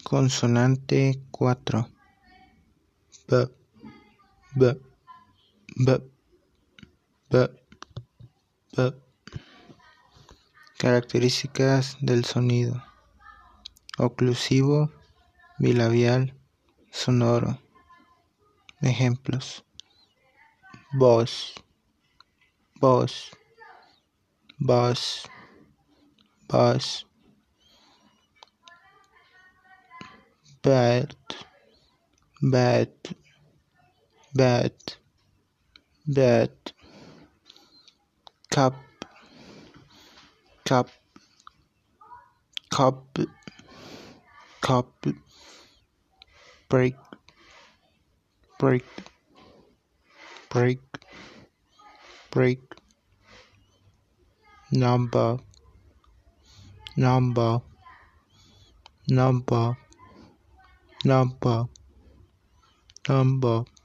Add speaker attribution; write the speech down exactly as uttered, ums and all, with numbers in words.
Speaker 1: Consonante cuatro. B, b, b, b, b. Características del sonido: oclusivo, bilabial, sonoro. Ejemplos: voz, voz, voz, voz. Bad, bad, bad, bad. Cup, cup, cup, cup. Break, break, break, break. Number, number, number, number, number.